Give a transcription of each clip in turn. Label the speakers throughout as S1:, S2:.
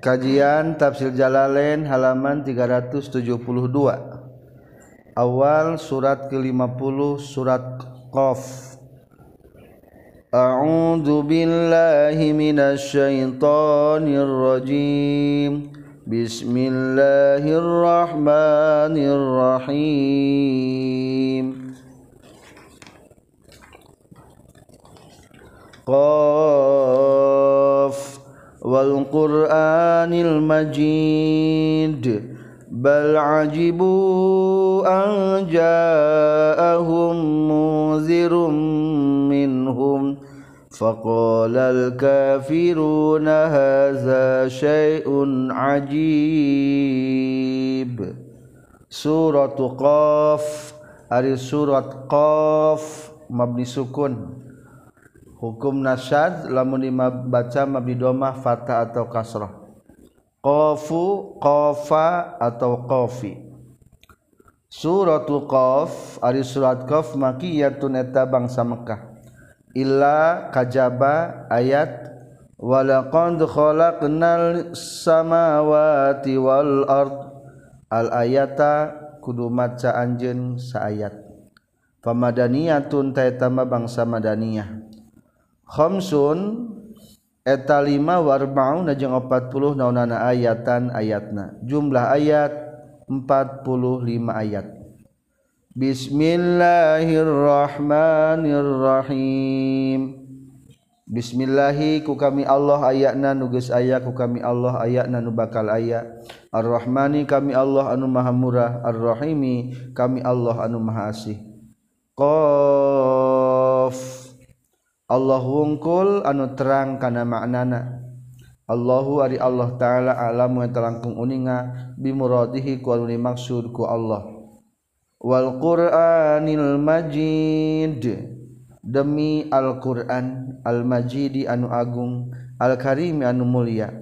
S1: Kajian Tafsir Jalalain halaman 372. Awal surat ke-50 surat Qaf. A'udzu billahi minasy syaithanir rajim. Bismillahirrahmanirrahim. Qaf wal Qur'anil Majid bal ajibu an ja'ahum munzirum minhum faqalal kafiruna hadza syai'un ajib. Surat Qaf ari surat Qaf mabni sukun. Hukum nasyad lamun dibaca mabni dhammah fathah atau kasrah. Qafu, qafa atau qafi. Suratul Qaf ari surat Qaf makiyatun eta bangsa Mekah. Illa kajaba ayat walaqad khalaqnal samawati wal ard. Al ayata kudu maca anjeun saayat. Pamadaniyatun ta eta bangsa madaniyah. Khamsun eta 5 warba'una jeung 40 naunana ayatan ayatna. Jumlah ayat 45 ayat. Bismillahirrahmanirrahim. Bismillahi ku kami Allah ayatna nu geus aya ku kami Allah ayatna nu bakal aya. Ar-Rahmani kami Allah anu maha murah, Ar-Rahimi kami Allah anu maha asih. Qaf Allah wungkul anu terang kana maknana. Allahu ari Allah taala alamu eta langkung uninga bimuradihi ku anu dimaksud ku Allah. Wal Qur'anil Majid demi Al-Qur'an Al-Majidi anu agung Al-Karim anu mulia.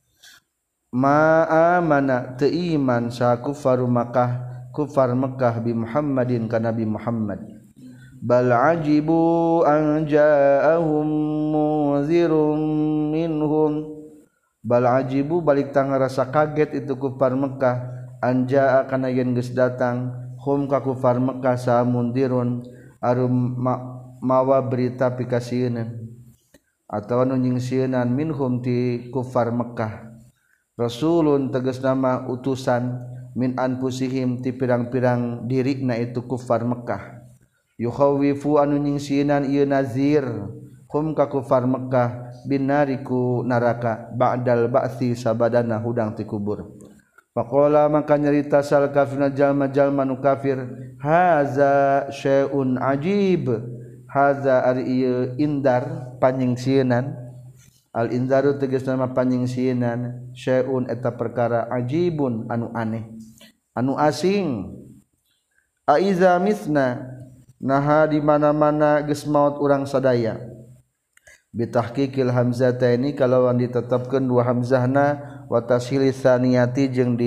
S1: Ma amana teu iman sa kufaru Makkah kufar Mekah bi Muhammadin ka Nabi Muhammad. Bal ajibu an ja'ahum munzirum minhum. Bal ajibu balik tang rasa kaget itu kufar Mekah an ja'a kana yen geus datang hum ka kufar Mekah sa mundirun arum mawa berita pikasieun atawa nu nyingsieun minhum ti kufar Mekah. Rasulun tegas nama utusan min anfusihim ti pirang-pirang dirina itu kufar Mekah. Yukhawifu anu nyingsinan ieu nazir hum ka kufar Mekah binariku neraka ba'dal ba'tsi sabadana hudang ti kubur. Faqala maka nyarita sal kafirna jalma-jalma nu kafir haza syai'un ajib. Haza ari ieu indar panyingsieunan. Al indaru tegasna mah panyingsieunan syai'un eta perkara ajibun anu aneh anu asing. Aiza misna naha di mana-mana geus maot urang sadaya. Bitahqiqil hamzataini kalawan ditetapkeun dua hamzahna wa tashilis saniyati jeung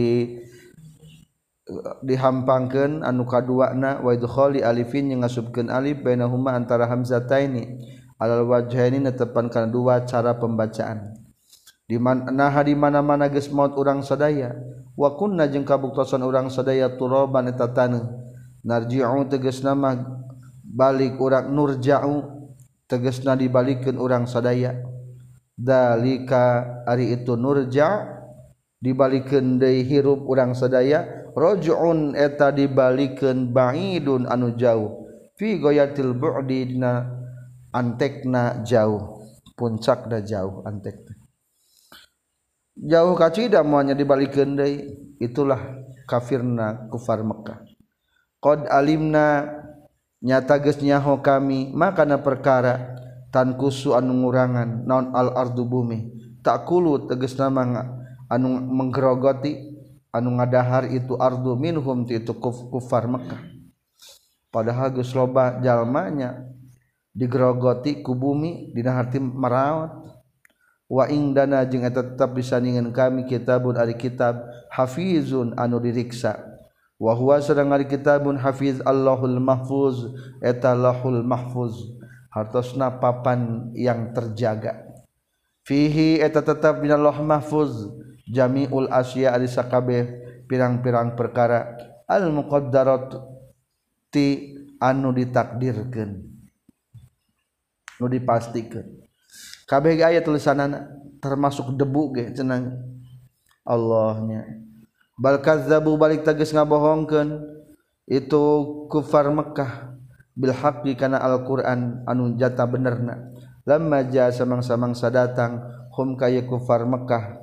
S1: dihampangkeun anu kaduana wa idkhali alifin jeung ngasubkeun alif bainahuma antara hamzataini alal wajhaini netepan kana dua cara pembacaan. Di mana-mana geus maot urang sadaya wa kunna jeung kabuktosan urang sadaya turaban eta taneuh. Narji'u tegasna mah balik urang nurja'u tegasna dibalikeun urang sadaya. Dalika ari itu nurja' dibalikeun deui hirup urang sadaya. Raj'un eta dibalikeun ba'idun anu jauh. Fi ghayatil bu'di dina antekna jauh, puncakna jauh antekna. Jauh kacida moalnya dibalikeun deui. Itulah kafirna kufar Mekah. Qad alimna nyata geus nyaho kami makana perkara tan kusu anu ngurangan naon al ardu bumi takulu tegasna mah anu menggerogoti anu ngadahar itu ardu minhum ti itu kufar Mekah. Padahal geus loba jalmanya digerogoti ku bumi dina harti maraot. Wa indana jeung eta tetep disandingan kami kitabun ari kitab hafizun anu diriksa. Wa huwa sareng ari kitabun hafiz Allahul Mahfuz eta Lahul Mahfuz hartosna papan yang terjaga. Fihi eta tetap dina Lauh Mahfuz jami'ul asya ari sakabeh pirang-pirang perkara al muqaddarati anu ditakdirkeun nu dipastikeun kabeh ge aya tulisanana termasuk debu ge cenah Allahnya bal kazzabu balik tegas ngabohongkeun itu kufar Mekkah bil haqqi kana Al-Qur'an anu jata benerna lamma jaa samang-samangsa datang hum kaya kufar Mekkah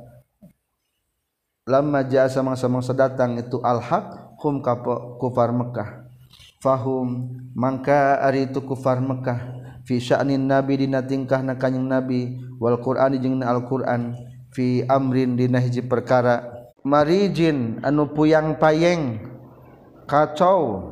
S1: lamma jaa samang-samangsa datang itu al-haq hum ka kufar Mekkah fahum mangka ari itu kufar Mekkah fi sya'nin nabi dina tingkahna kanjing nabi wal qur'an jeung al-Qur'an fi amrin dina hiji perkara marijin anu puyang payeng kacau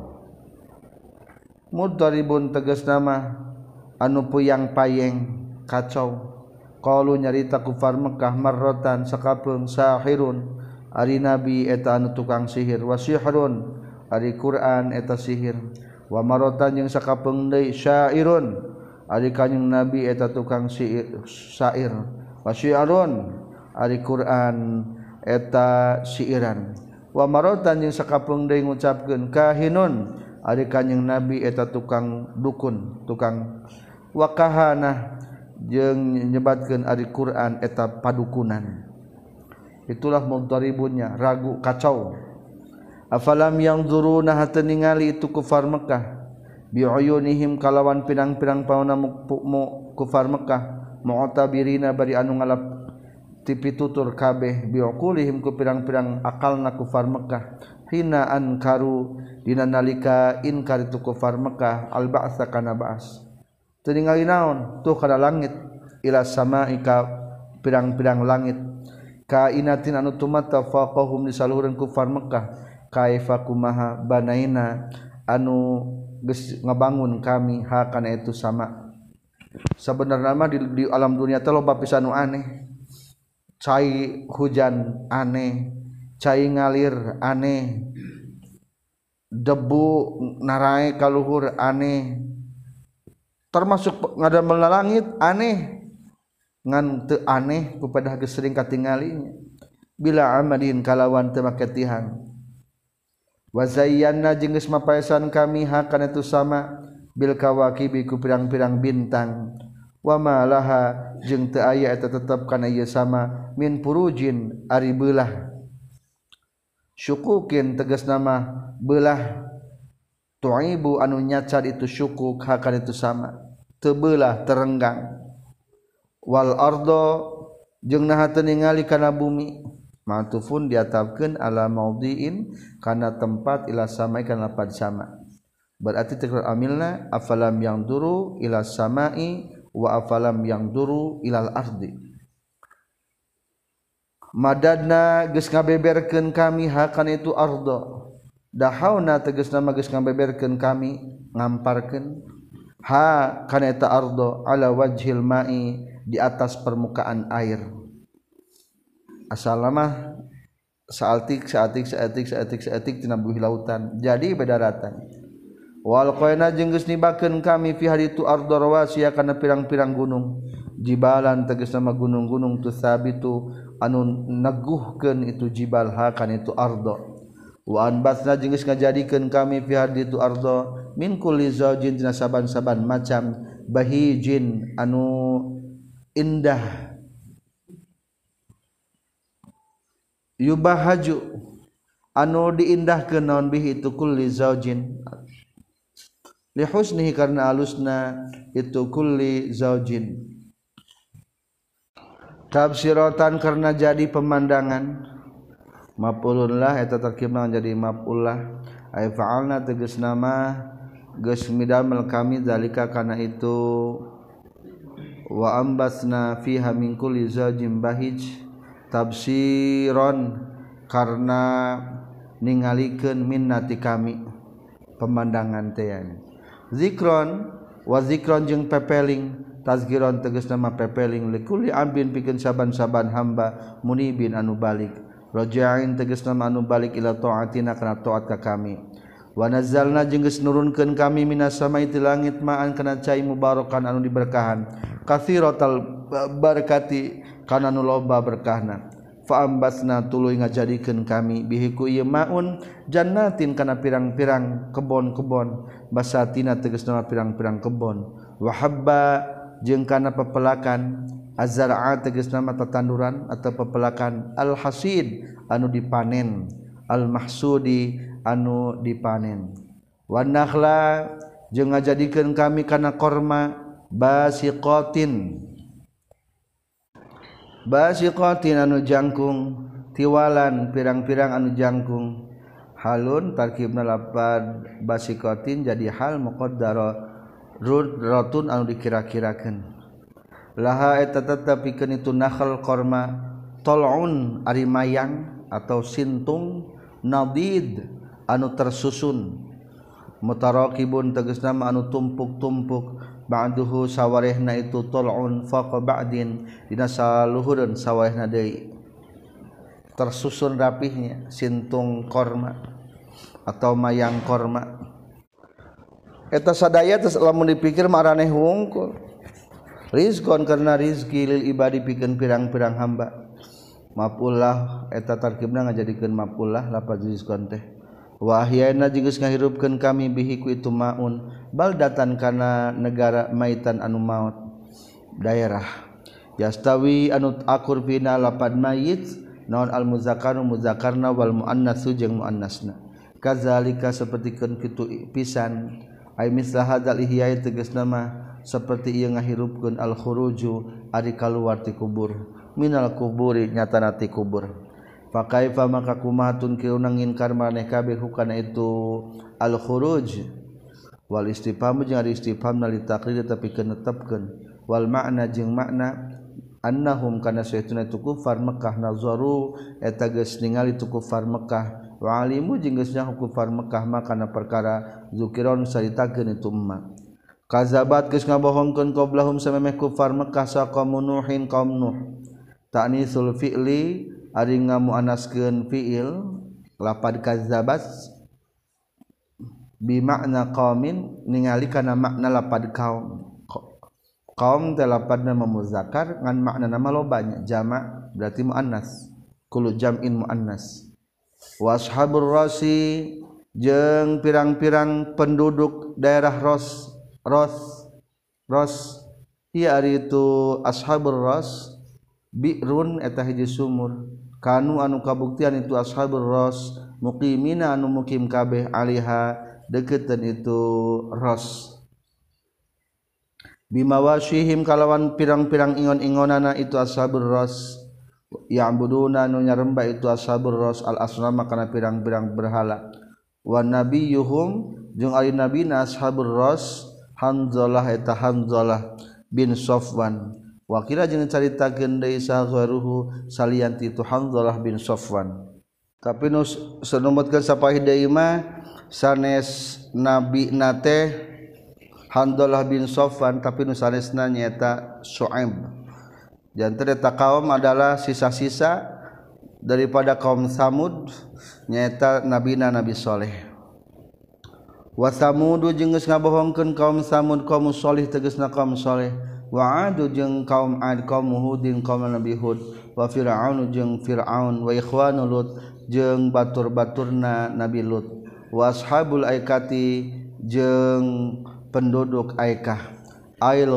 S1: mudharibun tegasna mah anu puyang payeng kacau qalu nyarita kufar Mekkah marratan sakapeung sahirun ari nabi eta anu tukang sihir wa sihrun ari Qur'an eta sihir wa marratan jeung sakapeung deui syairun ari kanjing nabi eta tukang syair wa syiarun ari Qur'an eta syairan wa marratan jeung sakapeung deui ngucapkeun kahinun ari kanjing nabi eta tukang dukun tukang wa kahana jeung nyebatkeun ari Qur'an eta padukunan itulah mudharibunnya ragu kacau afalam yanzuruna hatta ningali itu kufar Mekkah bi'uyunihim kalawan pirang-pirang pauna kufar Mekkah mu'tabirina bari anu ngalap tipitutur kabeh bi'uqulihim ku pirang-pirang akalna kufar Mekkah hina ankaru dina nalika inkar itu kufar Mekkah al-ba'sa kana ba'as teu ningali naon tuh kana langit ila sama'i ka pirang-pirang langit kainatin anu tumata faqahum disaluhureun kufar Mekkah kaifa kumaha banaina anu geus ngabangun kami ha kana itu sama sabenerna mah di alam dunia teh loba pisan nu aneh cai hujan aneh cai ngalir aneh debu narae ka luhur aneh termasuk ngadamel langit aneh ngan teu aneh kupadah geus sering katingali bila amadin kalawan teu make tihang wa zayyana jeung geus mapaesan kami hakana itu sama bil kawakibi ku pirang-pirang bintang wa ma laha jeung teu aya eta tetep kana ieu sama min purujin ari beulah syukukin tegasna mah beulah tu'ibu anu nyacad itu syukuk hakana itu sama teu beulah terenggang wal ardo jeung naha teu ningali kana bumi ma'tufun diatapkeun ala maudhi'in kana tempat ila samai kana lapad sama berarti tekrar amilna afalam yanzuru ila samai wa afalam yanzuru ilal ardi madadna geus ngabeberkeun kami hakana itu ardo dahauna tegasna mah geus ngabeberkeun kami ngamparkeun ha kana eta ardo ala wajhil ma'i di atas permukaan air asalama saatik tina buih lautan jadi bedaratan wal qaina jeung geus nibakeun kami fi haditu ardo rawasiya kana pirang-pirang gunung jibalan tegasna mah gunung-gunung tu sabitu anu neguhkeun itu jibal ha kana itu ardo wa anbasna jeung geus ngajadikeun kami fi haditu ardo min kulli zaujin tina saban-saban macam bahijin anu indah yubahaju anu diindahkeun naon bihi itu kulli zaujin li husnihi karna alusna itu kulli zaujin tafsiratan karna jadi pemandangan maf'ulun lah eta tarkibna jadi maf'ul lah ay fa'alna tegasna mah geus midamel kami zalika kana itu wa ambasna fiha min kulli zaujin bahij tafsiron karena ningalikeun minnati kami pemandangan teh zikron wa zikron jeung pepeling tazkiron tegasna mah pepeling likulli abdin pikeun saban-saban hamba munibin anu balik raja'in tegasna mah anu balik ila taatina kana taat ka kami wa nazzalna jeung geus nurunkeun kami minas samai ti langit ma'an kana cai mubarakan anu diberkahan katsiratal barakati kana nu loba berkahna faambasna tuluy ngajadikeun kami bihi ku ieu maun jannatin kana pirang-pirang kebon-kebon basatina tegasna pirang-pirang kebon wa habba jeung kana pepelakan azra'a tegasna tatanduran atau pepelakan al hasid anu dipanen al mahsudi anu dipanen wan nakhla jeung ngajadikeun kami kana korma basiqatin anu jangkung tiwalan pirang-pirang anu jangkung halun tarkibna lapad basiqatin jadi hal muqaddara rotun anu dikira-kirakeun laha eta tetepikeun itu nakhl korma tol'un ari mayang atau sintung nadid anu tersusun mutaraqibun tegasna anu tumpuk-tumpuk ba'duhu sawarehna itu tol'un faqa ba'din dina saluhureun sawarehna deui tersusun rapihnya sintung korma atau mayang korma eta sadaya tes lamun dipikir maraneh wungkul rizqon karena rizki lil ibadi pikeun pirang-pirang hamba maf'ulah eta tarkibna ngajadikeun maf'ulah lafaz rizqon teh wa ahyana jeung geus ngahirupkeun kami bihi ku itu maun baldatan kana negara maitan anu maut daerah yastawi anu akur pina lapad mayit naon al muzakkaru muzakkarna wal muannatsu jeung muannasna kadzalika sapertikeun kitu pisan ay mislah hadzal ihya tegasna mah saperti ieu ngahirupkeun al khuruju ari kaluar ti kubur minal kuburi nyatana ti kubur fakaifa maka kumatun kieu ngingkar maneh kabeh hukana itu al khuruj wal istifham jeung ari istifham li taqrir tapi kenetepkeun wal makna jeung makna annahum kana saytuna tu kufar Mekah nazaru eta geus ningali tu kufar Mekah wa alimu jeung geus nyaho kufar Mekah makana perkara zukiron saritakeun itu umma kazabat geus ngabohongkeun qablahum samemeh kufar Mekah sa qaum nuhin qaum nuh ta'nisul fi'li ari ngamuannaskeun fi'il lapad kazabat bi makna qaumin ningali kana makna lapad kaum teh lapadna muzakkar ngan makna nama lobanya jamak berarti muannas kullu jam'in muannas wa ashabur rasi jeung pirang-pirang penduduk daerah ros ieu ari itu ashabur ras bi'run eta hiji sumur kanu anu kabuktian itu ashabur ras muqimina anu mukim kabeh aliha deukeuteun itu ras bimawashihim kalawan pirang-pirang ingon-ingonana itu ashabur ras ya'buduna anu nyarembah itu ashabur ras al asnama kana pirang-pirang berhala wa nabiyuhum jeung ari nabina ashabur ras Hanzalah eta Hanzalah bin Safwan wa kira jeung caritakeun deui saharuhu salianti itu Hanzalah bin Safwan tapi nu sanumutkeun sapahih deui mah sanes nabi nate Hanzalah bin Safwan tapi nu sanesna nyaeta Syuaib janten eta kaum adalah sisa-sisa daripada kaum Samud nyaeta nabina Nabi Saleh wa Samud jeung geus ngabohongkeun kaum Samud kaum Saleh tegasna kaum Saleh wa Ad jeung kaum Ad kaum Hudin kaum Nabi Hud wa Fir'aun jeung Fir'aun wa ikhwanu Lut jeung batur-baturna Nabi Lut wa ashabul aikati jeung penduduk Aikah ail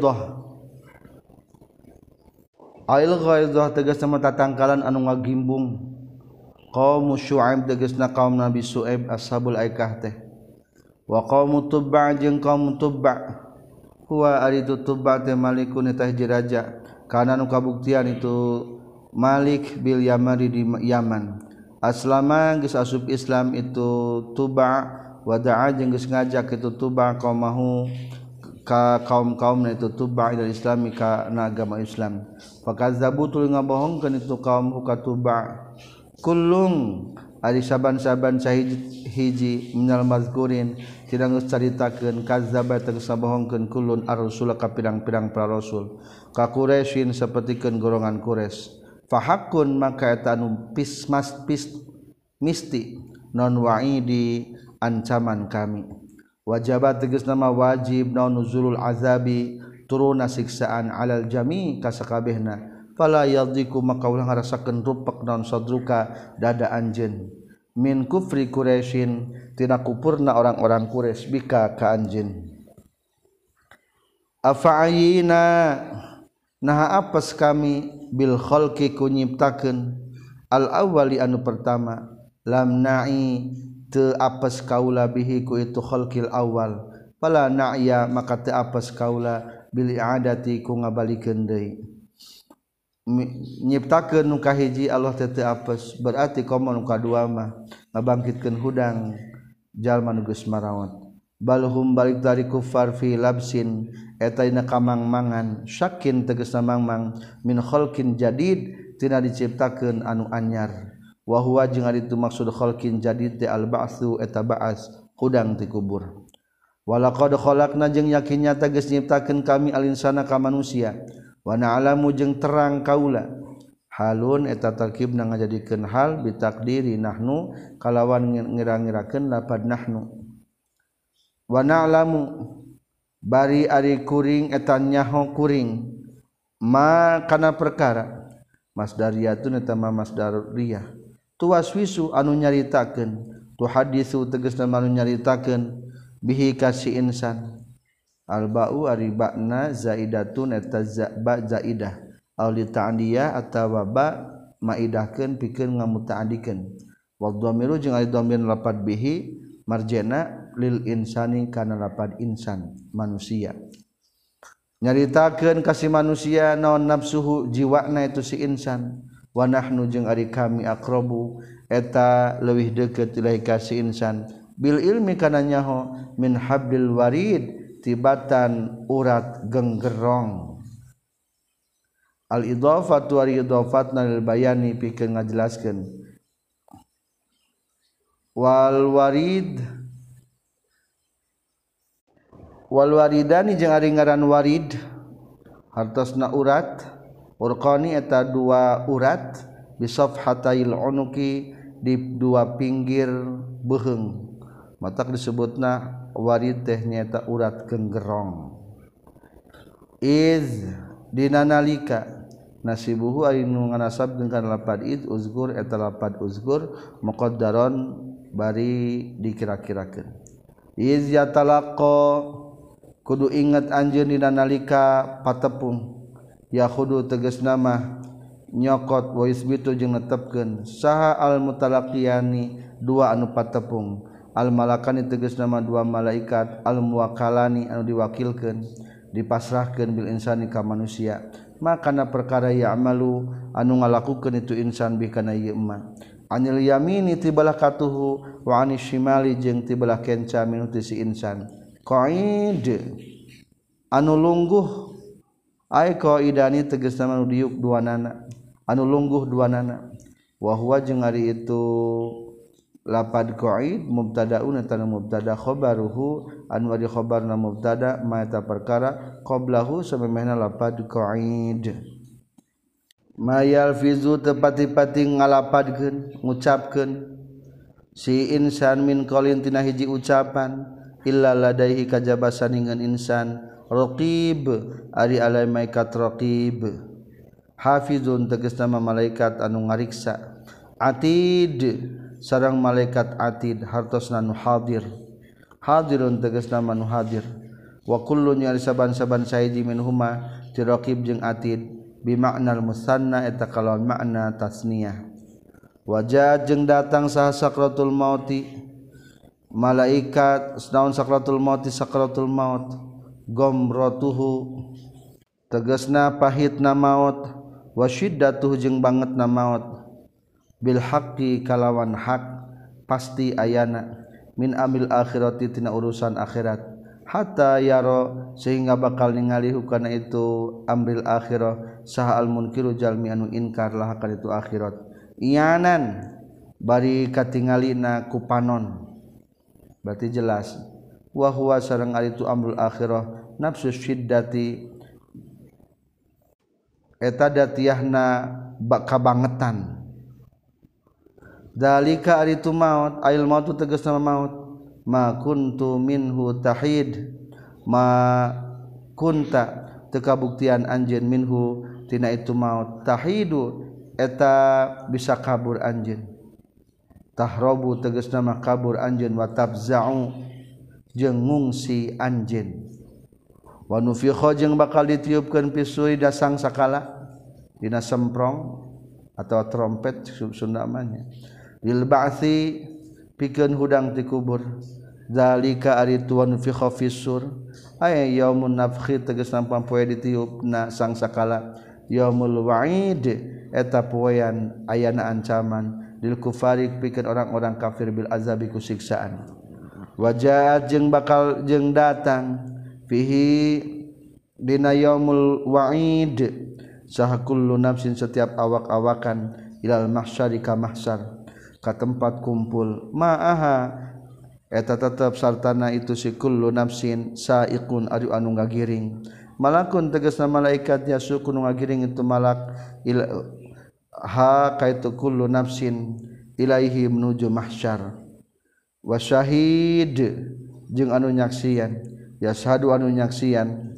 S1: ghaidah tegasna tatangkalan anu ngagimbung qaum Syuaib tegasna kaum Nabi Syuaib ashabul Aikah teh wa qaum Tubba jeung kaum Tubba huwa ari Tubba teh malikun eta hiji raja kana anu kabuktian itu Malik bil Yamani di Yaman aslama geus asup Islam itu Tubba wada'a jeung geus ngajak itu Tubba qaumahu ka kaum-kaumna itu Tubba ila islami ka agama Islam fakazzabu tuluy ngabohongkeun itu kaum ka Tubba kullung ari saban-saban hiji minal mazkurin tidak geus caritakeun kazzaba tegas ngabohongkeun kullun ar-rasul ka pirang-pirang para rasul ka Quraisyin sapertikeun golongan Quraisy fahaqqun maka eta anu misti non wa'idi ancaman kami wajabat tegas nama wajib naon nuzulul azabi turuna siksaan alal jami kasakabehna fala yadhiku maka ulah ngarasakeun rupek naon sadruka dada anjeun min kufri Quraisyin tina kupurna orang-orang Quraisy bika ka anjeun afa'ayina naha apes kami bil khalqi ku nyiptakeun al awwali anu pertama lam na'i teu apes kaula bihi ku itu khalqil awal fala na'ya maka teu apes kaula bil i'adati ku ngabalikeun deui nyiptakeun nu kahiji Allah teu apes berarti komo nu kadua mah ngabangkitkeun hudang jalma nu geus marawat balhum balik dari kufar fi labsin eta dina kamangmangan syakin tegasna mangmang min khalqin jadid tina diciptakeun anu anyar wa huwa jeung ari itu maksud khalqin jadid teh al ba'tsu eta ba'as hudang ti kubur walaqad khalaqna jeung yakin nyata geus nyiptakeun kami al insana ka manusia wa na'lamu jeung terang kaula halun eta tarkibna ngajadikeun hal bitakdiri nahnu kalawan ngira-ngirakeun lapad nahnu wa na'lamu bari ari kuring eta nyaho kuring ma kana perkara masdariyatun eta ma masdariyah tuwaswisu anu nyaritakeun tu hadisu tegasna anu nyaritakeun bihi kasi insan alba'u ari ba'na zaidatun eta ba zaidah aw li ta'diyah atawa ba maidahkeun pikeun ngamuta'adikeun wa dhamiru jeung ari dhamir lapad bihi marjana lil insani kana lapad insan manusia nyaritakeun kasih manusia naon nafsuhu jiwana itu si insan wa nahnu jeung ari kami aqrabu eta leuwih deukeut ilahi kasih insan bil ilmi kana nyaho min hablil warid tibatan urat genggerong al idhafatu wa idhafatna lil bayani pikeun ngajelaskeun wal waridani jeung ari ngaran warid hartosna urat urqani eta dua urat bisafhatail unuki di dua pinggir beheung matak disebutna warid teh nyaeta urat genggerong iz dinanalika nasibuhu ari nu nganasab dengan lapad id uzgur eta lapad uzgur muqaddaron bari dikira-kirakeun iz yatalaqqa kudu ingat anjeun dina nalika patepung ya kudu tegasna mah nyokot wa isbitu jeung netepkeun saha al mutalaqiyani dua anu patepung al malakani tegasna mah dua malaikat al muwakkalani anu diwakilkeun dipasrahkeun bil insani ka manusia makana perkara ya'malu anu ngalakukeun itu insan bi kana ieu mah anil yamini tibalah katuhu wa anis shimali jeung tibalah kenca minu si insan qaid anu lungguh ai qaidani tegasna anu diuk duanana anu lungguh duanana wa huwa jeung ari itu lapad qaid mubtadaun eta mubtada khabaruhu anu ari khabarna mubtada ma eta perkara qablahu samemehna lapad qaid ma yalfizu tepati-pati ngalapadkeun ngucapkeun si insan min qaulin tina hiji ucapan illa ladaihi kajaba saningan insan raqib ari alai malaikat raqib hafizun tegasna malaikat anu ngariksa atid sareng malaikat atid hartosna nu hadir hadirun tegasna nu hadir wa kullu nyari saban-saban saiji minhuma ti raqib jeung atid bi ma'nal musanna eta kalawan makna tasniyah wajah jeung datang saha sakratul mauti malaikat naon sakratul maut gomrotuhu tegasna pahitna maut wa syiddatuhu jeung bangetna maut bil haqqi kalawan hak pasti ayana min amil akhirati tina urusan akhirat hatta yaro sehingga bakal ningali hukana itu amril akhirah saha al munkiru jalmi anu inkar lah kana itu akhirat iyanan bari katingalina ku panon berarti jelas wa huwa sareng ari tu amrul akhirah nafsu syiddati eta datiyahna kabangetan dalika ari tu maut ail mautu tegasna maut ma kuntu minhu tahid ma kunta teu kabuktian anjeun minhu tina itu maut tahidu eta bisa kabur anjeun tahrobu tegasna mah kabur anjeun wa tabza'u jeung ngungsi anjeun wa nufikha jeung bakal ditiupkeun pisui dasang sakala dina semprong atau trompet Sunda namanya lil ba'tsi pikeun hudang ti kubur zalika ari tuan fi khafisur ay yaumun nafkhi tegasna poe ditiupna sang sakala yaumul wa'id eta poean ayana ancaman lil kufari pikeun orang-orang kafir bil azabi ku siksaan wajaat jeung bakal jeung datang fihi dina yaumul wa'id saha kullu nafsin setiap awak-awakan ilal mahsyari ka mahsyar ka tempat kumpul ma'aha eta tetep sartana itu si kullu nafsin sa'iqun ari anu ngagiring malakun tegasna malaikat yasuku nu ngagiring itu malak ha kaitu kullu nafsin ilaihi menuju mahsyar wa syahid jeung anu nyaksian yashadu anu nyaksian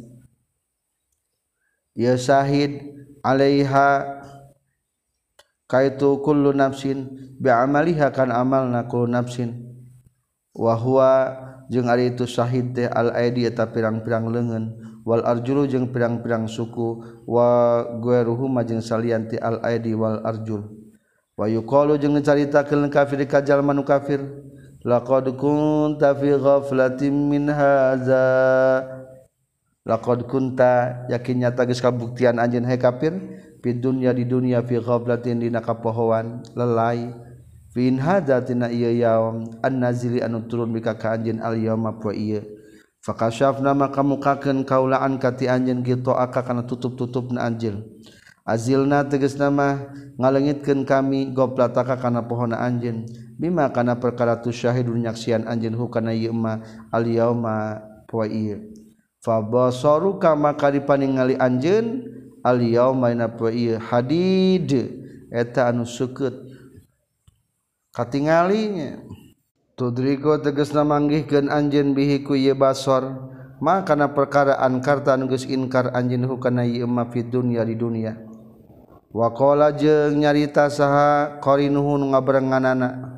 S1: ya syahid alaiha kaitu kullu nafsin bi'amaliha kan amalna kullu nafsin wa huwa jeung ari itu syahid teh al aidi eta pirang-pirang leungeun wal arjulu jeung pirang-pirang suku wa ghairuhum jeung salian ti al aidi wal arjul wa yuqalu jeung dicaritakeun kafir ka jalma nu kafir laqad kunta fi ghaflatin min hadza laqad kunta yakin nyata geus kabuktian anjeun hai kafir fi dunya di dunya fi ghaflatin dina kapohoan lelai fin hadza tina ieu yaum an-nazili anu turun bika ka anjeun al yauma poe ieu fakashafna maka mukakeun kaulaan kati anjeun gitu aka kana tutup-tutupna anjeun azilna tegasna mah ngaleungitkeun kami goplataka kana pohona anjeun bima kana perkara tu syahidun nyaksian anjeun hu kana ieu mah al yauma poe ieu fa basaruka maka dipaningali anjeun al yauma ina poe ieu hadid eta anu seukeut katingalinya tudrigo tegasna manggihkeun anjeun bihi ku ieu basar maka kana perkara ankarta anu geus inkar anjeun hu kana ieu mah fid dunya di dunya wa qala jeung nyarita saha qarinuhu nu ngabarenganana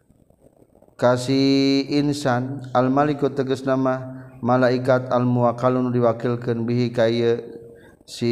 S1: kasih insan al maliku tegasna mah malaikat al muwakkalun diwakilkeun bihi ka ieu si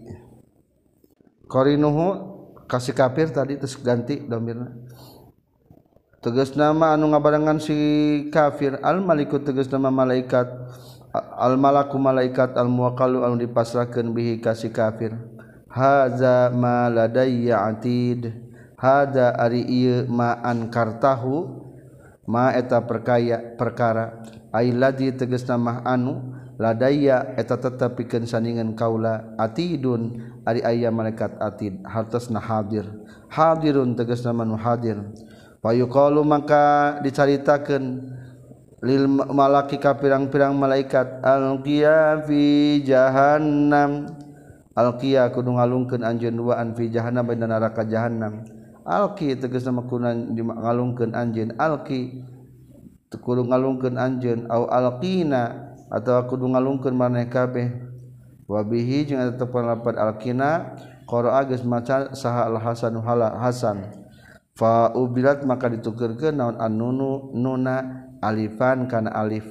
S1: qarinuhu kasih kafir tadi terus ganti domirna tegasna mah anu ngabarengan si kafir al maliku tegasna mah malaikat al malaku malaikat al muwakkalu anu dipasrahkeun bihi ka si kafir haza ma ladayya atid hada ari ieu ma ankartahu ma eta perkara ailadi tegasna mah anu ladayya eta tetep pikeun sandingan kaula atidun ari aya malaikat atid hartosna hadirun tegasna manu hadir wa yuqalu maka dicaritakeun lil malaki ka pirang-pirang malaikat alqiya fi jahannam alqiya kudu ngalungkeun anjeun waan fi jahannam dina neraka jahannam alqi tegasna makunan ngalungkeun anjeun alqi kudu ngalungkeun anjeun au alqina atawa kudu ngalungkeun maneh kabeh wa bihi jeung eta pendapat alqina qara'a geus maca saha al hasanu hasan fa ubilat maka ditukeurkeun naon annunu nuna alifan kana alif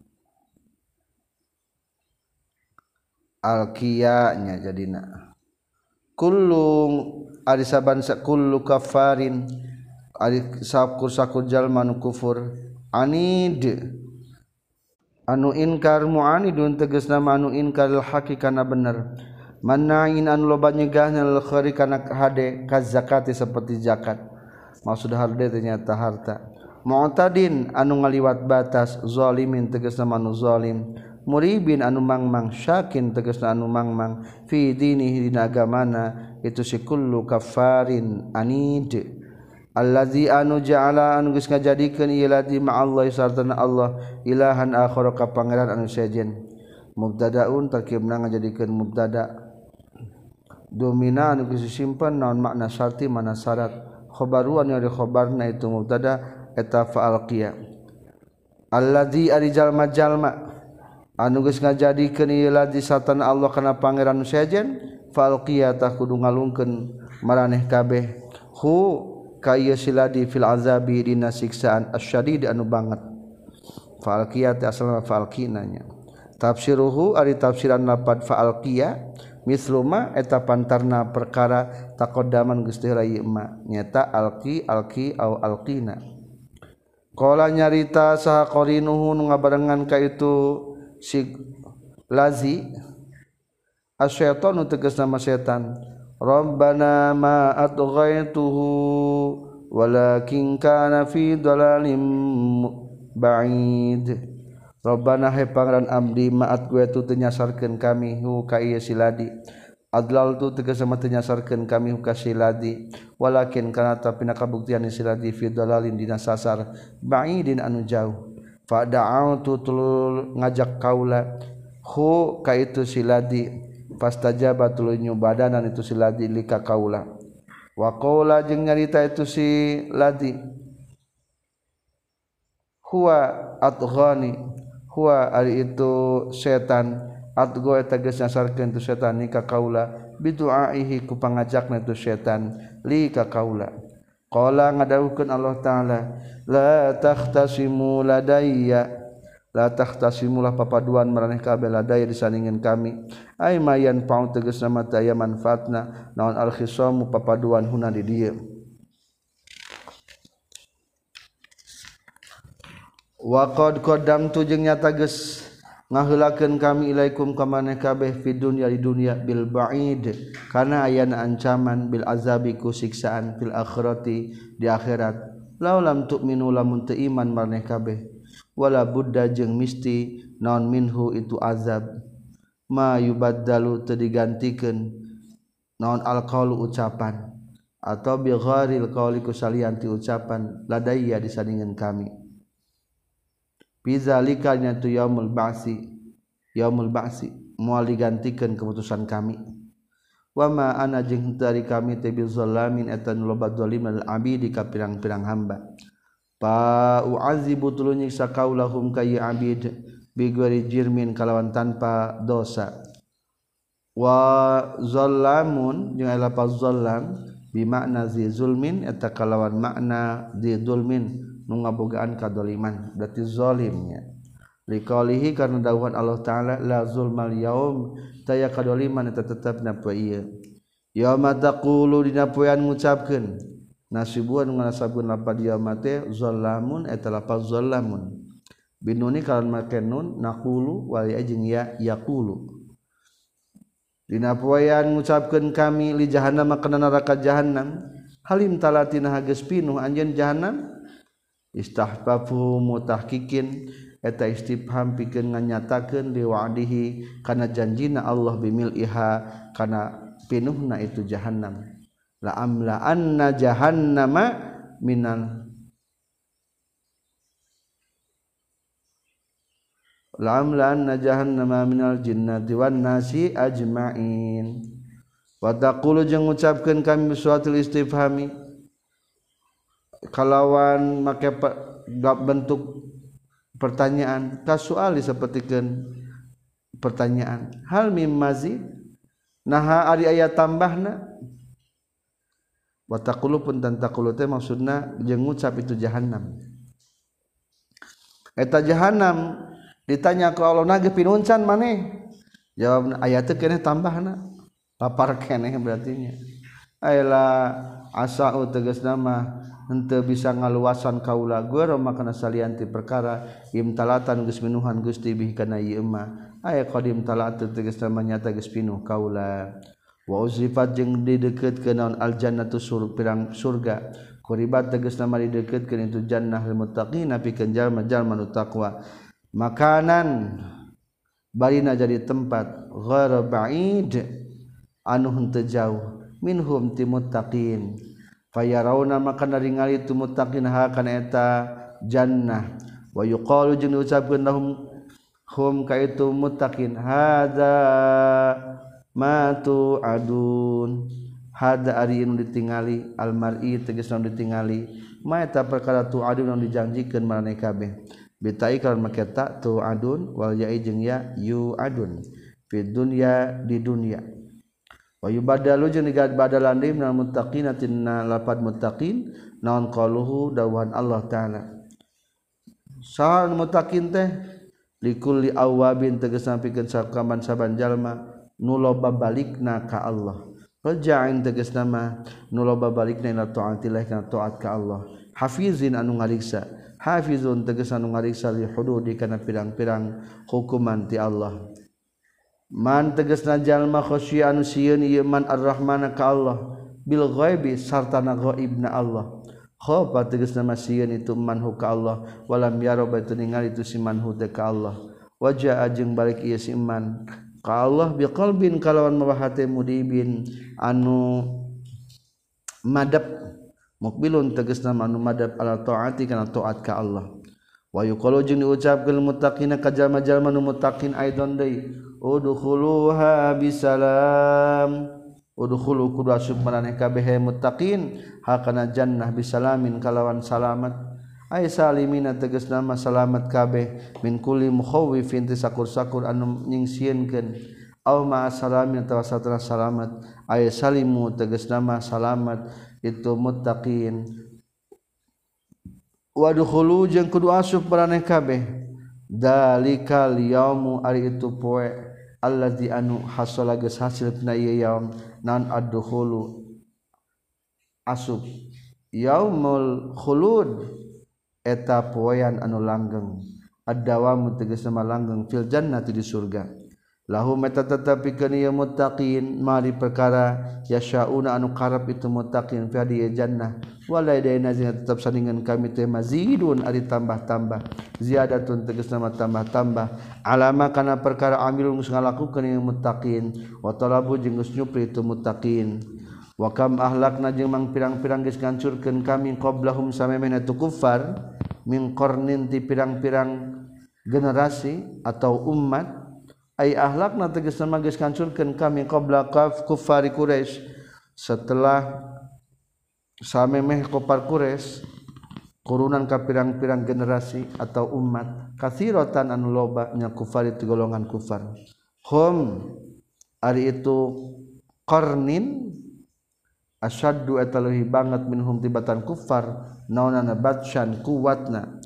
S1: alqiya nya jadina kullu ari saban kullu kafarin ari sakur jalma nu kufur anid anu inkar mu'anidun tegasna anu inkar al hakikana bener manain anu loba nyegahna al khari kana hade ka zakati seperti zakat maksud harde ternyata harta mu'tadin anu ngaliwat batas zalimin tegasna anu zalim muribin anu mangmang syakin tegasna anu mangmang fi dinihi dina agamana itu si kullu kafarin anid allazi anu ja'ala anu geus ngajadikeun ieu ladzi ma'allahi sartana Allah ilahan akhar ka pangeran anu sejen mubtadaun tarkibna ngajadikeun mubtada domina anu geus simpen naon makna syarti mana syarat khabaruan yang dikhabarna itu mubtada eta fa'alqiya allazi ari jalma-jalma anu geus ngajadikeun ieu ladzi sartana Allah kana pangeran anu sejen falqiyatah kudu ngalungkeun maraneh kabeh hu ka ieu siladi fil azabi dina siksaan asyadid anu banget falqiyat asalna falqinanya tafsiruhu ari tafsiran lapad falqiya misluma eta pantarna perkara taqaddaman geus teu rai ma nyata alqi au alqina qala nyarita saha qarinuhu nu ngabarengan ka itu si lazi asyaitanu tegas nama setan rabbana ma atghaituhu walakin kana fi dhalalim ba'id rabbana he pangeran abdi maat gue tu tenyasarkeun kami hu ka ieu siladi adlal tu tegas sama tenyasarkeun kami hu ka siladi walakin kana tapi kabuktian siladi fi dhalalin dina sasar ba'idin anu jauh fa da'autu tulul ngajak kaula hu ka itu siladi fastajaba tuluy nyubadanan itu siladi lika kaula wa qaula jeung nyarita itu si ladi huwa atghani huwa ari itu setan atgo eta geus nyasarkeun tu setan ni ka kaula biduaihi ku pangajakna tu setan li ka kaula qala ngadawuhkeun Allah taala la takhtasimu ladayya la takhtasimulah papaduan maraneh kabeh ladayya disandingan kami ai mayan paun tegasna mata aya manfaatna naon al khisamu papaduan huna di dieu wa qad qaddamtu jeung nyata geus ngaheulakeun kami ilaikum ka maneh kabeh fi dunya di dunya bil ba'id kana ayana ancaman bil azabi ku siksaan fil akhirati di akhirat laulam tu'minu lamun teu iman maneh kabeh wala budda jeung misti naon minhu itu azab ma yubaddalu teu digantikeun naon alqaulu ucapan atau bi gharil qauli ku salianti ucapan ladayya disandingan kami bizalika nyatu yaumul ba'si moal digantikeun keputusan kami wa ma ana jeung dari kami teh bizalamin eta nu loba zalim lil abidi ka pirang-pirang hamba pa u'azibu tuluy nyiksa kaulahum ka ya abid bi ghairi jirmin kalawan tanpa dosa wa zallamun jeung lafaz zallam bi makna zi zulmin eta kalawan makna zi zulmin nu ngabogaan kadoliman berarti zalimnya liqalihi karena dawuhan Allah taala la zulmal yaum taya kadoliman eta tetepna poe ieu yauma taqulu dina poean ngucapkeun nasibuan ngasabun lapad yauma teh zallamun eta lapaz zallamun binuni kalan make nun naqulu wal jeung ya yaqulu dina poean ngucapkeun kami li jahannam kana neraka jahannam halim talatina geus pinuh anjeun jahannam istahfafu mutahkikin eta istifham pikeun nganyatakeun li wa'dihi kana janjina Allah bimil iha kana pinuhna itu jahannam la amla anna jahannama minal la amla anna jahannama minal jinnati wan nasi ajmain wa taqulu jeung ngucapkeun kami suatul istifhami kalawan make bentuk pertanyaan kasuali sapertikeun pertanyaan hal mim mazid naha ari aya tambahna wa taqulu pun tan taqulu teh maksudna jeung ngucap itu jahannam eta jahannam ditanya ku Allah nage pinuncan maneh jawabna aya teh keneh tambahna lapar keneh berarti nya ayeula asau tegasna mah henteu bisa ngaluasan kaula geur makana salianti perkara imtalatan geus minuhan Gusti bih kana ieu mah aya qadim talat tegasna nyata geus pinuh kaula wa uzifat jeung dideukeutkeun naon aljannatu pirang surga quribat tegasna mah dideukeutkeun itu jannah lil muttaqin pikeun jalma-jalma nu taqwa makanan barina jadi tempat ghara ba'id anu henteu jauh minhum ti muttaqin fayarauna maka naringali tu muttaqin ha kana eta jannah wa yuqalu jeung diucapkeun lahum hum ka itu muttaqin hadza ma tu'adun hada ari anu ditingali almar'i tegasna ditingali ma eta perkara tu'adun anu dijanjikeun maraneh kabeh bitai kalan make ta tu'adun wal ya'i jeung ya yu'adun fi dunya di dunya wa yubadalu jeung digad badalan deui minal muttaqin tina lapad muttaqin naon qaluhu dawuhan Allah taala saal muttaqin teh likulli awabin tegasna pikeun sakaman saban jalma nu loba balikna ka Allah raja'in tegasna mah nu loba balikna ila taatillah kana taat ka Allah hafizin anu ngariksa hafizun tegasna anu ngariksa li hududi kana pirang-pirang hukuman ti Allah man tegasna jalma khosyi anu sieun ieu man ar-rahmana ka Allah bil ghaibi sartana ghaibna Allah khofa tegasna masieun itu manhu ka Allah walam yara batu ningali itu si manhu teh ka Allah wajaa jeung balik ieu si iman ka Allah biqalbin kalawan mawa hate mudibin anu madab mukbilun tegasna anu madab ala taati kana taat ka Allah wa yuqalu jeung diucapkeun muttaqina ka jalma-jalma nu muttaqin aidon deui udkhuluha bisalam udkhulu kudu asup maraneh kabeh muttaqin hakana jannah bisalamin kalawan salamat ay salimina tegasna mah salamat kabeh min kulli mukhawifin tisakur-sakur anu nyingsieunkeun aw ma salamin atawa satara salamat ay salimu tegasna mah salamat itu muttaqin wadkhulu jeung kudu asup maraneh kabeh dalikal yaumu ari itu poe allazi anu hasala geus hasil tina ieu yaum nan adkhulu asup yaumul khulud eta poean anu langgeng ad-dawam tegasna langgeng fil jannati di surga lahum eta tetepikeun ieu muttaqin mari perkara yasyauna anu karep itu muttaqin fi di jannah waladaina tetep sandingan kami teh mazidun ari tambah-tambah ziyadatun tegasna tambah-tambah alama kana perkara amilun geus ngalakukeun ieu muttaqin wa talabu jeung geus nyupri itu muttaqin wa kam ahlakna jeung mang pirang-pirang geus ngancurkeun kami qablahum samemehna tu kuffar min qarnin ti pirang-pirang generasi atau umat ay ahlakna tegasna mah geus ngancurkeun kami qabla kuffari quraisy setelah samemeh kufar quraisy kurunan ka pirang-pirang generasi atau umat katsiratan anu loba nya kufar itu golongan kufar hum ari itu qarnin asyaddu eta leuwih banget minhum tibatan kufar naonana batsyan kuwatna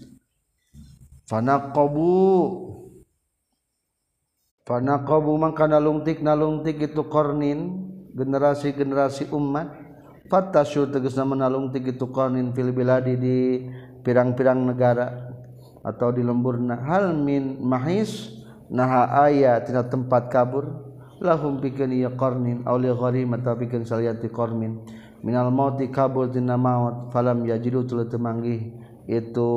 S1: fanaqabu mangkana lungtik itu qarnin generasi-generasi umat fatasyu tegasna menalungtik itu qarnin fil biladi di pirang-pirang negara atau di lemburna hal min mahis naha aya tina tempat kabur lahum pikeun ieu qarnin aw li gharim atawa pikeun saliyati qarnin minal mauti kabur tina maut falam yajidu tuluy teu manggih itu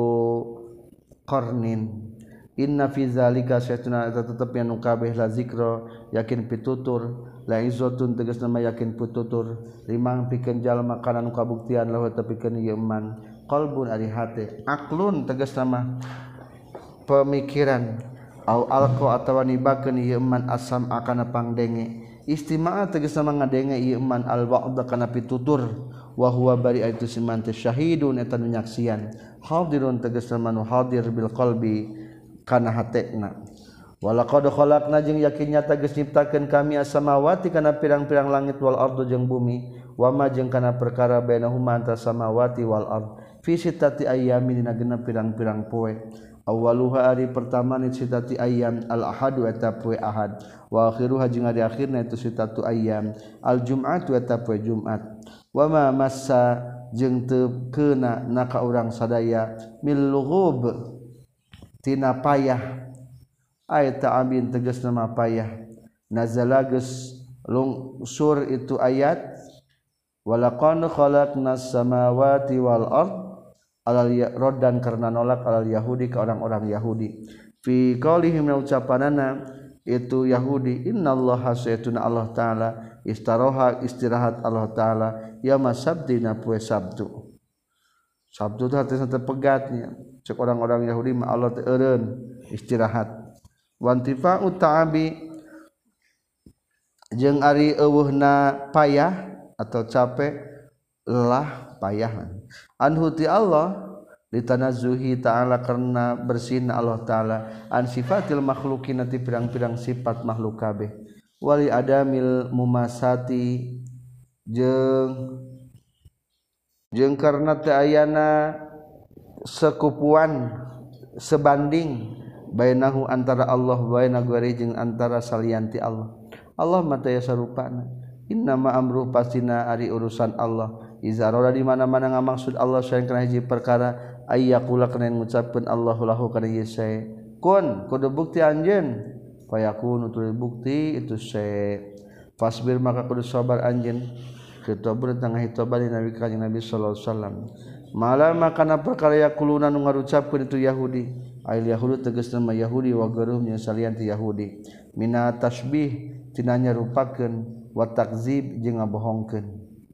S1: qarnin inna fi zalika saytuna tetep anu kabeh la zikra yakin pitutur la izzatun tegasna mah yakin pitutur limang pikeun jalma kana nu kabuktian lahu tepikeun ieu iman qalbun ari hate aklun tegasna mah pemikiran au alqa atawa nibakeun ieu iman asam akana pangdenge istima'a tegasna mah ngadenge ieu iman al wa'da kana pitutur wa huwa bari itu siman teh syahidun eta nu nyaksian hadirun tegasna mah nu hadir bil qalbi kana hatena walaqad khalaqna jeung yakin nyata geus nyiptakeun kami as-samawati kana pirang-pirang langit wal ardu jeung bumi wa ma jeung kana perkara bainahuma antara samawati wal ard fi sittati ayyamin dina genep pirang-pirang poe awaluha ari pertama ni sittati ayyam al ahadu eta poe ahad wa akhiruha jeung ari akhirna itu sittatu ayyam al jum'atu eta poe jumat wa ma massa jeung teu keuna naka urang sadaya mil lughub tina payah ayat ta'abin tegasna mah payah nazala geus lungsur itu ayat walaqad khalaqnas samawati wal ard alal raddan karna nolak alal yahudi ka orang-orang Yahudi fi qaulihim ucapanana itu Yahudi innallaha saytuna Allah taala istirahat Allah taala yauma sabtina poe Sabtu Sabtu teh artinya tepegatnya cek orang-orang Yahudi mah Allah teh eureun istirahat wantifa'u ta'abi jeung ari eueuhna payah atau capek lelah payah anhu ti Allah litanazzuhi ta'ala karena bersihna Allah taala an sifatil makhluqin ti pirang-pirang sifat makhluk kabeh wali adamil mumasati jeung karna teu ayana sekupuan sebanding bainahu antara Allah baina ghairi jeung antara salianti Allah. Allah mah teu sarupana. Innama amru pastina ari urusan Allah iza roda di mana-mana ngamaksud Allah saeng kana hiji perkara ayyaqula kana ngucapkeun Allahu lahu kana ieu sae kun kudu bukti anjeun fayakunu tuluy bukti itu sae fasbir maka kudu sabar anjeun ketober tengah hitoban Nabi kanjeng Nabi sallallahu alaihi wasallam malama kana perkara yaquluna nu ngarucapkeun itu Yahudi ail Yahudi tegasna mah Yahudi wa garuhum nya salian ti Yahudi mina tasbih tina nyarupakeun wa takzib jeung ngabohongkeun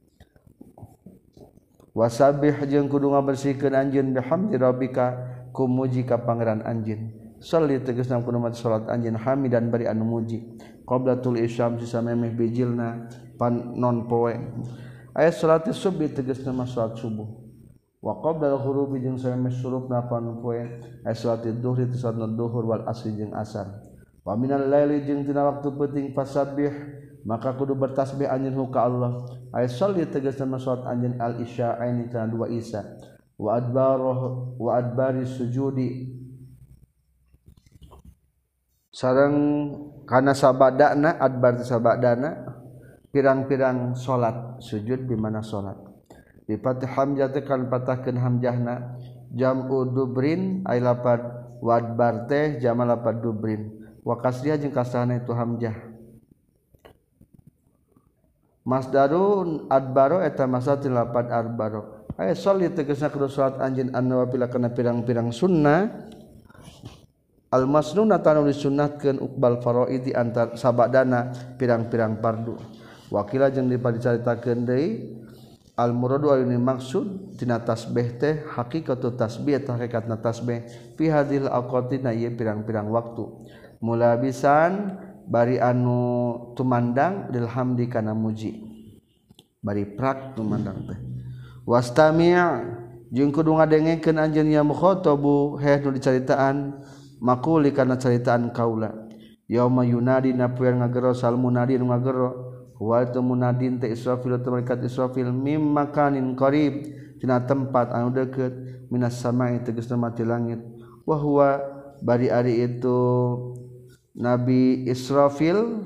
S1: wasabih jeung kudu ngabersihkeun anjeun bihamdi rabbika kumuji ka pangeran anjeun salli tegasna kudu maca salat anjeun hamidan bari anu muji qabla tul isyam sisamemeh bijilna pan non poe aya salat subuh tegasna mah salat subuh wa qabla al-ghurubi jeung samemeh surupna pan poe aya salat duhur itu salat duhur wal asri jeung asar wa minal laili jeung tina waktu penting fasabbih maka kudu bertasbih anjeun ka Allah ay sholli tegasna salat anjeun al isya'aini kana dua isya wa adbari sujudi sareng kana sabadana adbar sabadana pirang-pirang salat sujud di mana salat di fatih hamzah tekan patahkeun hamzahna jam'u dubrin ay lapad wa adbar teh jamal lapad dubrin wa kasriha jeung kasrahna itu hamzah masdarun adbaro eta masatil lapad arbaro aya sholli tegasna kudu salat anjeun an-nawafil kana pirang-pirang sunnah al masnunah tanu disunnahkeun uqbal faraidi antar sabadana pirang-pirang fardu wakila jeung dicaritakeun deui al muradu anu maksud tina tasbih teh hakikatu tasbih teh hakikatna tasbih fi hadhil awqatina ieu pirang-pirang waktu mulabisan bari anu tumandang lil hamdi kana muji bari prak tumandang teh wastami' jeung kudu ngadengekeun anjeun ya mukhatabu heh nu dicaritaan makuli kana caritaan kaula yauma yunadi napoean ngagero sal munadi nu ngagero wa tu munadin teh Israfil teh malaikat Israfil mim makanin qarib tina tempat anu deukeut minas sama'i tegasna mati langit wa huwa bari ari itu Nabi Israfil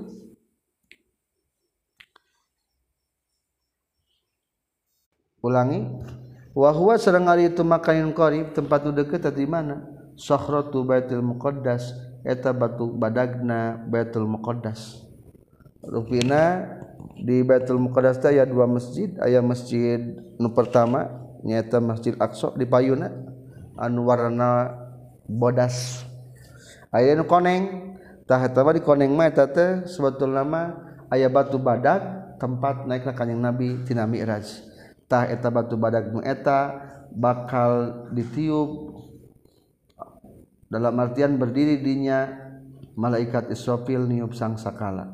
S1: ulangi wa huwa sareng ari itu makanin qarib tempat nu deukeut di mana sakhratu baitul muqaddas eta batu badagna baitul muqaddas rupina di baitul muqaddas teh aya dua masjid aya masjid nu pertama nyaeta Masjid Aqsa di payuna anu warna bodas aya nu koneng tah eta mah di koneng mah eta teh sebetulna mah aya batu badag tempat naikna kanjing Nabi tina Mi'raj tah eta batu badag nu eta bakal ditiup dalam artian berdiri dinya malaikat Israfil niup sangsakala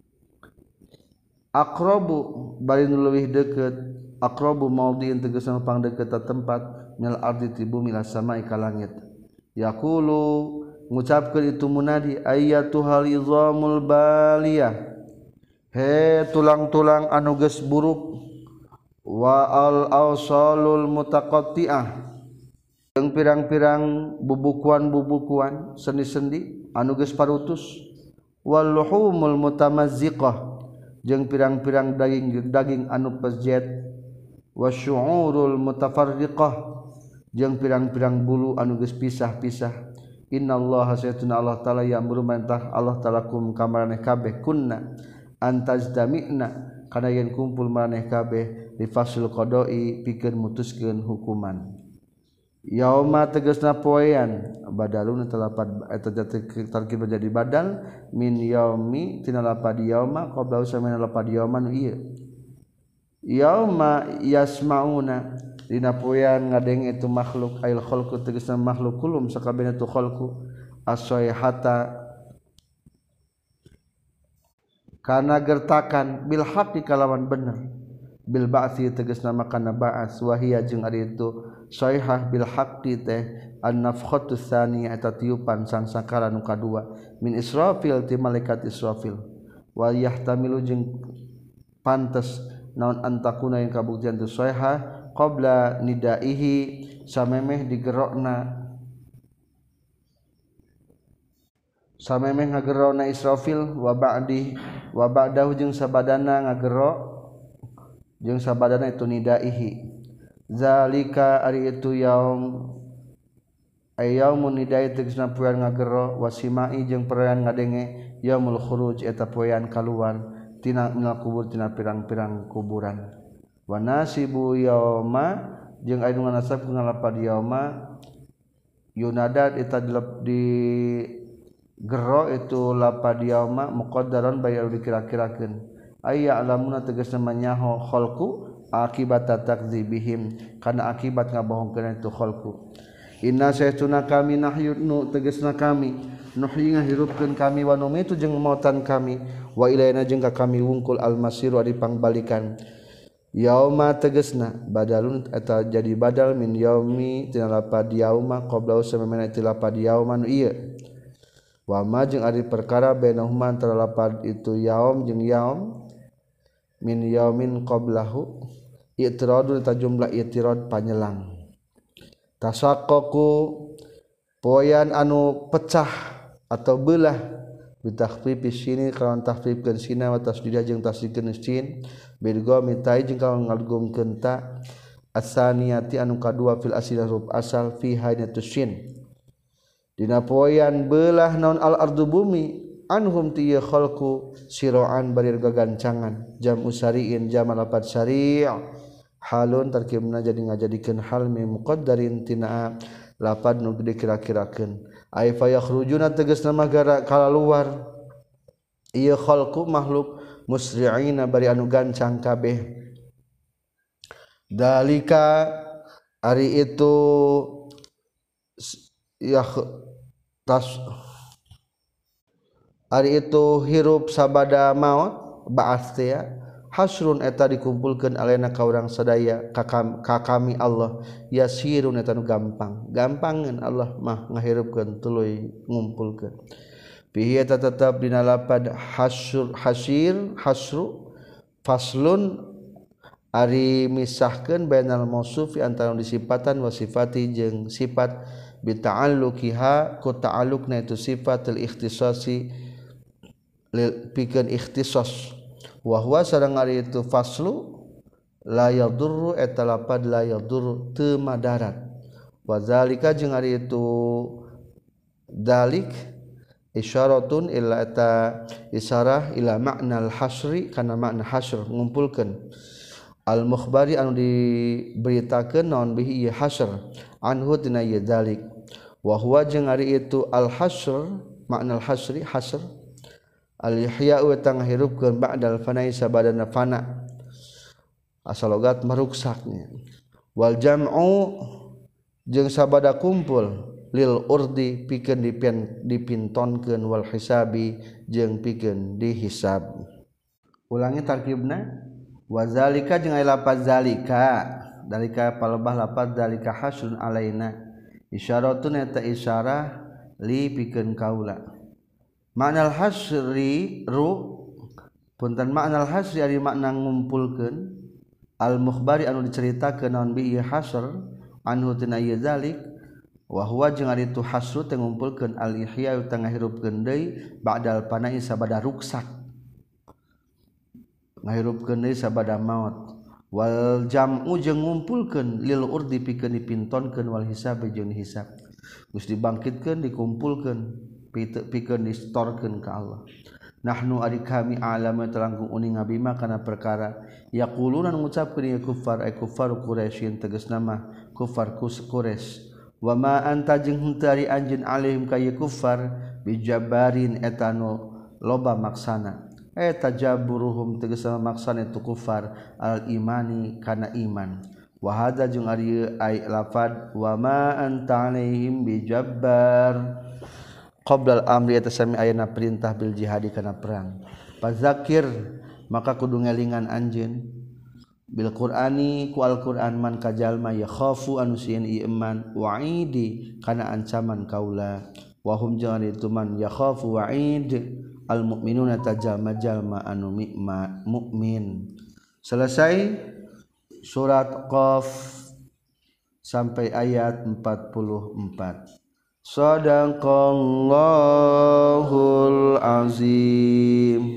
S1: aqrabu bari nu leuwih deukeut aqrabu maudhi'in tegasna pang deukeut tempat mil ardi ti bumi la sama'i ka langit yaqulu ngucapkeun itu munadi ayyatuhal izamul baliyah he tulang-tulang anu geus buruk wa al awsalul mutaqatti'ah jeung pirang-pirang bubukuan-bubukuan sendi-sendi anu geus parutus wal luhumul mutamazziqah jeung pirang-pirang daging anu pezjet wasyu'urul mutafarriqah jeung pirang-pirang bulu anu geus pisah-pisah innallaha saytuna Allah taala ya'muru mantah Allah taala kum kamarane kabeh kunna antazdami'na kana yen kumpul maneh kabeh di fasul qada'i pikeun mutuskeun hukuman yauma tegasna poean badalun telapad eta tarkib jadi badal min yaumi tina lapad yauma qabla usamina lapad yauma nu ieu yauma yasmauna dina poean ngadeng itu makhluk ail khalqu tegasna makhluk kulum sakabehna tu khalqu as-sayhata kana gertakan bil haqqi kalawan bener bil ba'si tegasna makana ba'as wa hiya jeung ari itu sayhah bil haqqi teh an-nafkhatu tsaniyah eta tiupan sangsakala nu kadua min Israfil ti malaikat Israfil wa yahtamilu jeung pantes naon antakuna yang kabuktian tu soeha qabla nidaihi samemeh digerokna samemeh ngagerona Israfil wa ba'dahu jeung sabadana ngagerok jeung sabadana itu nidaihi zalika ari itu yaum ayyaumun nidai tegasna poean ngagero wasimai jeung poean ngadenge yaumul khuruj eta poean kaluar tina minal kubur tina pirang-pirang kuburan wa nasibu yauma jeung aya nu nganasab ngalapad yauma yunadat eta di gero itu lapad yauma muqaddaran bayar dikira-kirakeun aya alamuna tegasna manyaho khalqu akibat takdzibihim kana akibat ngabohongkeun itu khalqu inna saytuna kami nahyunu tegasna kami nuhyi ngahirupkeun kami wa numitu jeung mautan kami wa ilaina jeung ka kami wungkul almasiru ari pangbalikan yauma tegasna badalun eta jadi badal min yaumi tina lapad yauma qabla samemana ti lapad yauma nu ieu wa ma jeung ari perkara bainahuma antara lapad itu yaum jeung yaum min yaumin qablahu i'tiradun ta jumlah i'tirad panyelang tasaqqaqu poean anu pecah atau beulah bitakhfifis sini kalawan takhfifkeun sina wa tasdidah jeung tasdidkeun sin bidgo mitai jeung kalawan ngalgumkeun ta asaniyati anu kadua fil asli huruf asal fi hainatus sin dina poean beulah naon al ardu bumi anhum tiya khalqu siroan barir gagancangan jam usariin jam lapad syari' halun tarkibna jadi ngajadikeun hal mi muqaddarin tina lapad nu dikira-kirakeun ay fa yakhrujuna tegasna magara kalaluar ieu khalqu makhluk musri'ina bari anu gancang kabeh dalika ari itu ari itu hirup sabada maut ba'ats teh hasrun eta dikumpulkeun alena ka urang sadaya ka kami Allah yasirun eta nu gampangeun Allah mah ngahirupkeun tuluy ngumpulkeun bihi eta tetep dina lapad hasru faslun ari misahkeun bainal mausufi antara disifatan wa sifati jeung sifat bi ta'alluqiha ku ta'alluqna itu sifatul ikhtisasi pikeun ikhtisas wa huwa sareng ari itu faslu la yadurru eta lapad la yadurru teu madarat wa zalika jeung ari itu dalik isyaratun illa eta isyarah ila makna al hasri kana makna hasr ngumpulkeun al mukhbari anu diberitakeun naon bihi ieu hasr anhu tina ieu dalik wa huwa jeung ari itu al hasr makna al hasri hasr al-ihya'u eta ngahirupkeun ba'dal fana'i sabadana fana asal logat maruksaknya wal jam'u jeung sabada kumpul lil urdi pikeun dipintonkeun wal hisabi jeung pikeun dihisab ulangi tarkibna wa zalika jeung aya lafaz zalika palebah lafaz zalika hasun alaina isyaratun eta isyarah li pikeun kaula makna al-hasri punten makna al-hasri ari makna ngumpulkeun al-mukhbari anu diceritakeun naon bi ieu hasr anhu tina ieu zalik wa huwa jeung ari tu hasru teh ngumpulkeun al-ihya teh ngahirupkeun deui ba'dal pana'i sabada ruksak ngahirupkeun deui sabada maut wal jam'u jeung ngumpulkeun lil urdi pikeun dipintonkeun wal hisab jeung hisab geus dibangkitkeun dikumpulkeun pikeun distorkeun ka Allah nahnu ari kami a'lamu telangkung uning ngabima kana perkara yaquluna ngucapkeun ieu kuffar ay kuffar quraisyin tegasna mah kuffar quraisy wa ma anta jeung henteu ari anjeun alaihim ka ieu kuffar bijabarin eta nu loba maksana eta jaburuhum tegasna maksana itu kuffar al imani kana iman wa hadza jeung ari ay lafad wa ma anta alaihim bijabbar qabla al-amri eta sami ayana perintah bil jihadi kana perang fazakir maka kudu ngelingan anjeun bil qur'ani ku al-qur'an man kajalma yakhafu anu sieun iman wa'idi kana ancaman kaula wa hum jangan itu man yakhafu wa'id al mukminuna tajallma anu mukmin. Selesai surat Qaf sampai ayat 44. Shadaqallahul azim.